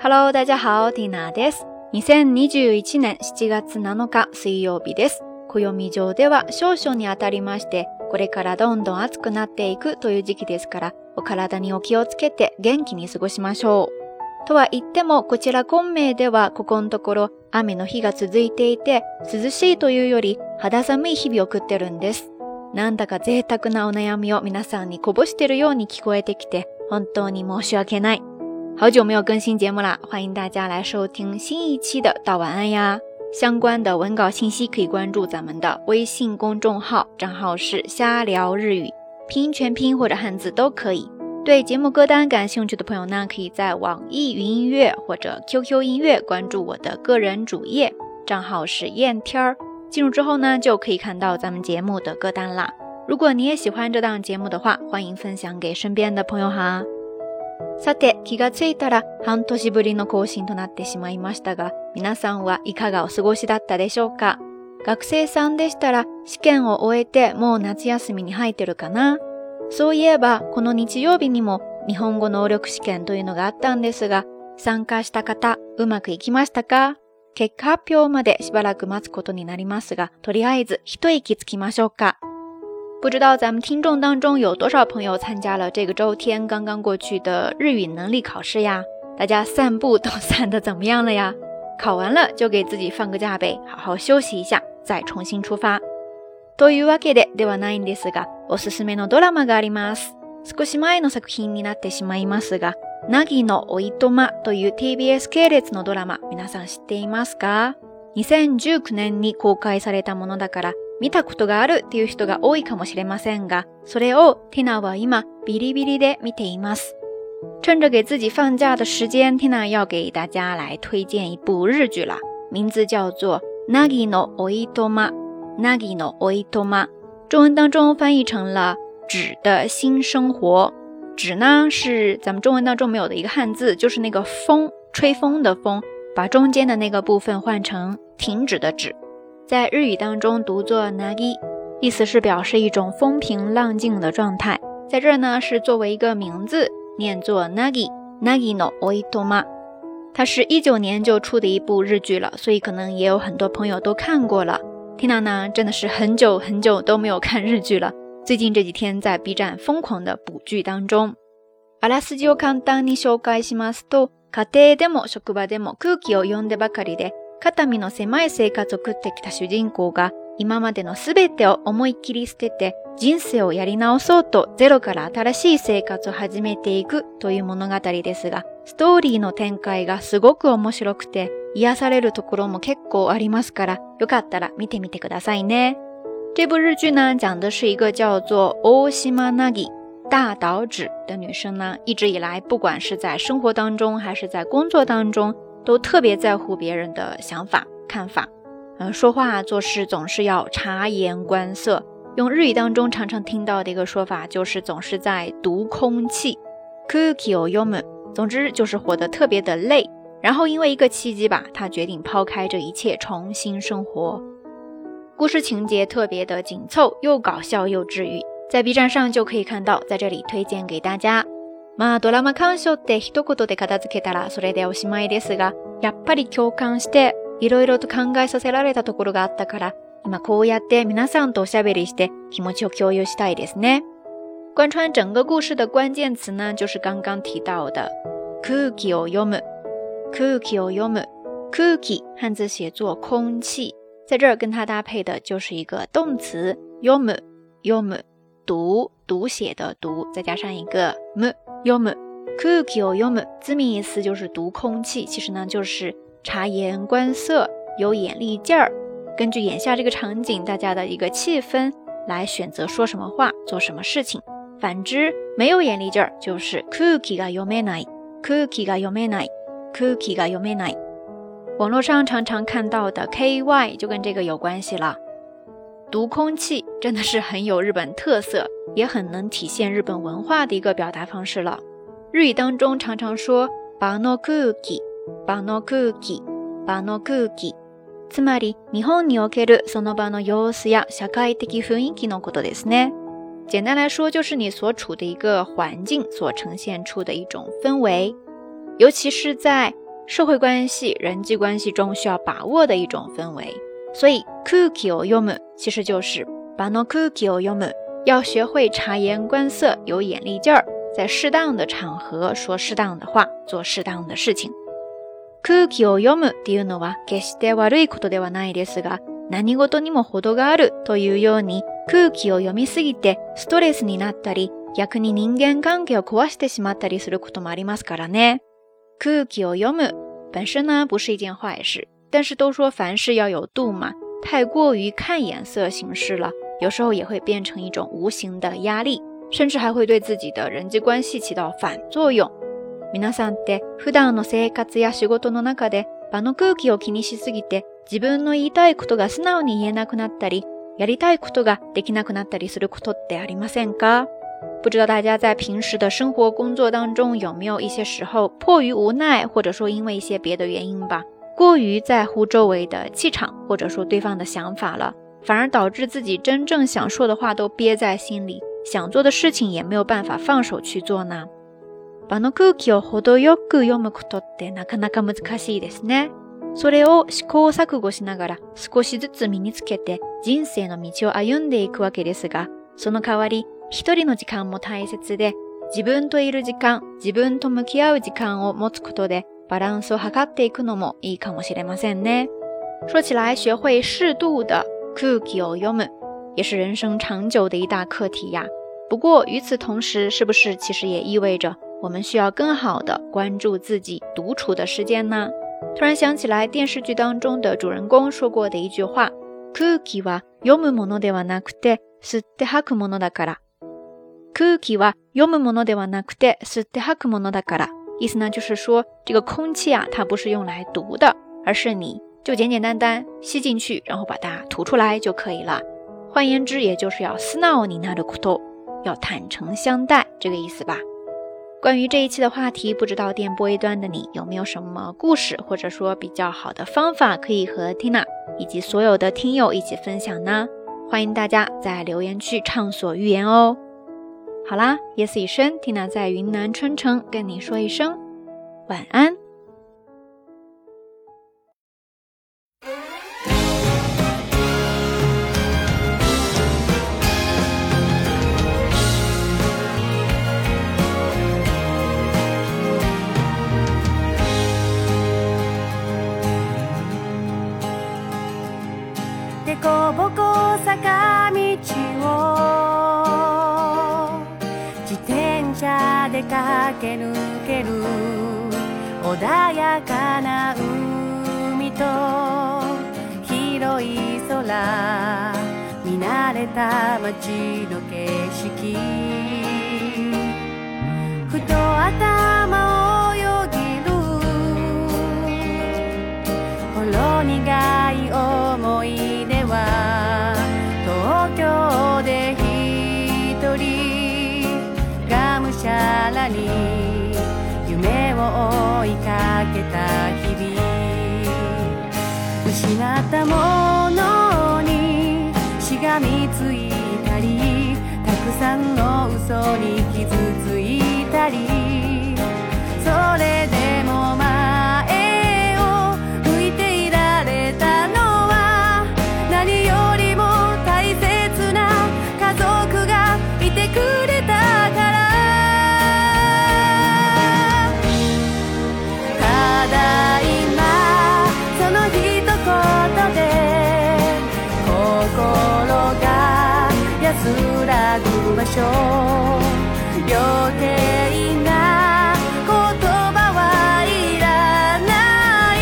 Hello， 大家好、ティナです。2021年7月7日水曜日です。暦上では少々に当たりまして、これからどんどん暑くなっていくという時期ですから、お体にお気をつけて元気に過ごしましょう。とは言っても、こちら昆明ではここのところ雨の日が続いていて、涼しいというより肌寒い日々を送ってるんです。なんだか贅沢なお悩みを皆さんにこぼしてるように聞こえてきて、本当に申し訳ない。好久没有更新节目啦，欢迎大家来收听新一期的道晚安呀。相关的文稿信息可以关注咱们的微信公众号，账号是瞎聊日语，拼音全拼或者汉字都可以。对节目歌单感兴趣的朋友呢，可以在网易云音乐或者 QQ 音乐关注我的个人主页，账号是燕天儿。进入之后呢，就可以看到咱们节目的歌单啦。如果你也喜欢这档节目的话，欢迎分享给身边的朋友哈。さて、気がついたら半年ぶりの更新となってしまいましたが、皆さんはいかがお過ごしだったでしょうか？学生さんでしたら試験を終えてもう夏休みに入ってるかな？そういえばこの日曜日にも日本語能力試験というのがあったんですが、参加した方うまくいきましたか？結果発表までしばらく待つことになりますが、とりあえず一息つきましょうか。不知道咱们听众当中有多少朋友参加了这个周天刚刚过去的日语能力考试呀？大家散步都散得怎么样了呀？考完了就给自己放个假呗，好好休息一下，再重新出发。というわけではないんですが、おすすめのドラマがあります。少し前の作品になってしまいますが、凪のおいとまという TBS 系列のドラマ、皆さん知っていますか？2019年に公開されたものだから、見たことがあるっていう人が多いかもしれませんが、それをティナは今ビリビリで見ています。趁着给自己放假的时间，ティナ要给大家来推荐一部日剧啦，名字叫做凪のおいとま。凪のおいとま，中文当中翻译成了纸的新生活。纸呢是咱们中文当中没有的一个汉字，就是那个风，吹风的风，把中间的那个部分换成停止的止。在日语当中读作 nagi， 意思是表示一种风平浪静的状态。在这儿呢是作为一个名字念作 nagi no oitoma。 它是19年就出的一部日剧了，所以可能也有很多朋友都看过了。Tina 呢真的是很久都没有看日剧了，最近这几天在 B 站疯狂的补剧当中。あらすじを簡単に紹介しますと、家庭でも職場でも空気を読んでばかりで肩身の狭い生活を送ってきた主人公が、今までのすべてを思いっきり捨てて人生をやり直そうとゼロから新しい生活を始めていくという物語ですが、ストーリーの展開がすごく面白くて癒されるところも結構ありますから、よかったら見てみてくださいね。这部日剧呢讲的是一个叫做大島凪大岛渚的女生呢，一直以来不管是在生活当中还是在工作当中，都特别在乎别人的想法看法，说话做事总是要察言观色。用日语当中常常听到的一个说法就是总是在读空气，空気を読む，总之就是活得特别的累。然后因为一个契机吧，他决定抛开这一切，重新生活。故事情节特别的紧凑，又搞笑又治愈，在 B 站上就可以看到，在这里推荐给大家。まあドラマ鑑賞って一言で片付けたらそれでおしまいですが、やっぱり共感していろいろと考えさせられたところがあったから、今こうやって皆さんとおしゃべりして気持ちを共有したいですね。贯穿整个故事的关键词呢，就是刚刚提到的空気を読む。空気を読む，空気汉字写作空气，在这儿跟它搭配的就是一个动词読む，読む读写的读，再加上一个む読む。空気を読む字面意思就是读空气，其实呢就是察言观色，有眼力劲儿，根据眼下这个场景大家的一个气氛来选择说什么话做什么事情。反之没有眼力劲儿就是空気が読めない，空気が読めない，空気が読めない。网络上常常看到的 KY 就跟这个有关系了。读空气真的是很有日本特色，也很能体现日本文化的一个表达方式了。日语当中常常说場の空気場の空気場の空気，つまり日本におけるその場の様子や社会的雰囲気のことですね。简单来说就是你所处的一个环境所呈现出的一种氛围，尤其是在社会关系、人际关系中需要把握的一种氛围。所以空気を読む其实就是場の空気を読む，要学会察言观色，有眼力劲儿，在适当的场合说适当的话，做适当的事情。空気を読むっていうのは決して悪いことではないですが、何事にも程があるというように、空気を読みすぎてストレスになったり、逆に人間関係を壊してしまったりすることもありますからね。空気を読む本身呢不是一件坏事，但是都说凡事要有度嘛，太过于看眼色行事了，有时候也会变成一种无形的压力，甚至还会对自己的人际关系起到反作用。皆さんって普段の生活や仕事の中で場の空気を気にしすぎて、自分の言いたいことが素直に言えなくなったり、やりたいことができなくなったりすることってありませんか？不知道大家在平时的生活工作当中有没有一些时候迫于无奈，或者说因为一些别的原因吧，过于在乎周围的气场，或者说对方的想法了，反而导致自己真正想说的话都憋在心里，想做的事情也没有办法放手去做呢。場の空気を程よく読むことってなかなか難しいですね。それを試行錯誤しながら少しずつ身につけて人生の道を歩んでいくわけですが、その代わり一人の時間も大切で、自分といる時間、自分と向き合う時間を持つことでバランスを図っていくのもいいかもしれませんね。说起来，学会适度的空気を読む也是人生长久的一大课题呀。不过与此同时，是不是其实也意味着我们需要更好的关注自己独处的时间呢？突然想起来电视剧当中的主人公说过的一句话，空気は読むものではなくて吸って吐くものだから。空気は読むものではなくて吸って吐くものだから。意思呢就是说，这个空气啊，它不是用来读的，而是你就简简单单吸进去，然后把它吐出来就可以了。换言之，也就是要素直になること，要坦诚相待，这个意思吧。关于这一期的话题，不知道电波一端的你有没有什么故事，或者说比较好的方法可以和 Tina 以及所有的听友一起分享呢？欢迎大家在留言区畅所欲言哦。好啦，夜色已深， Tina 在云南春城跟你说一声晚安。 でこぼこ坂道を自転車で駆け抜ける穏やかな海と広い空、見慣れた街の景色、ふと頭をよぎるほろ苦い思い出は、東京で一人がむしゃらに夢を追いかけた日々、失ったものにしがみついたり、たくさんの嘘に傷ついたり、それでも前を向いていられたのは、何よりも大切な家族がいてくれたから。ただ今その一言で心が安らぐ場所、余計な言葉はいらない、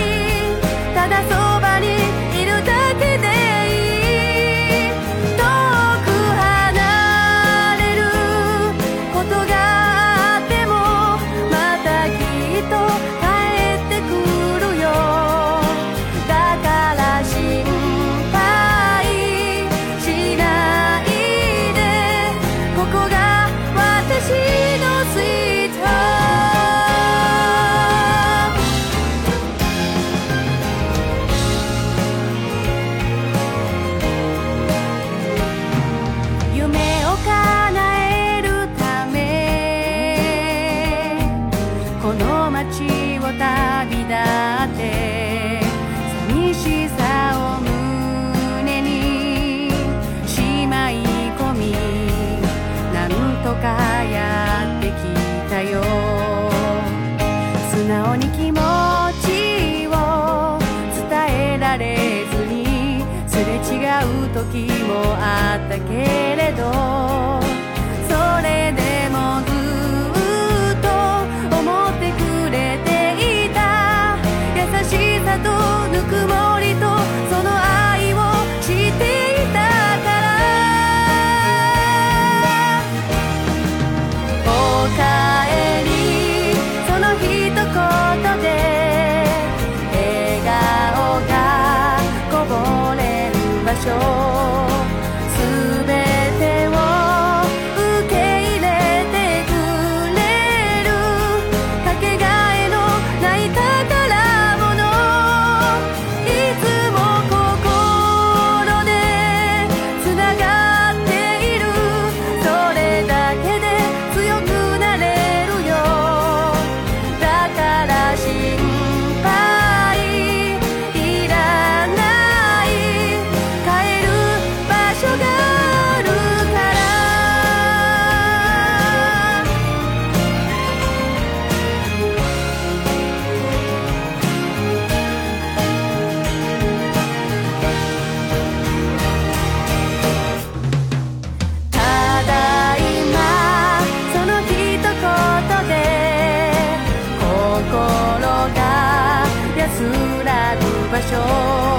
ただそばにいるだけでいい。遠く離れることがあっても、またきっと帰ってくるよ。だから心配しないで、ここが私のスイートホーム。夢を叶えるためこの街を旅立って寂しさを胸にしまい込みなんとかやってきたよ。素直に気持ちを伝えられずにすれ違う時もあったけれど、それでもずっと思ってくれていた。優しさとぬくもりとその愛を知っていたから。おかえりその一言で笑顔がこぼれる場所、すべてを受け入れてくれるかけがえのない宝物。いつも心でつながっている。それだけで強くなれるよ。だから心配いらない。帰る場所があるから。ただいまその一言で心が安らぐ場所。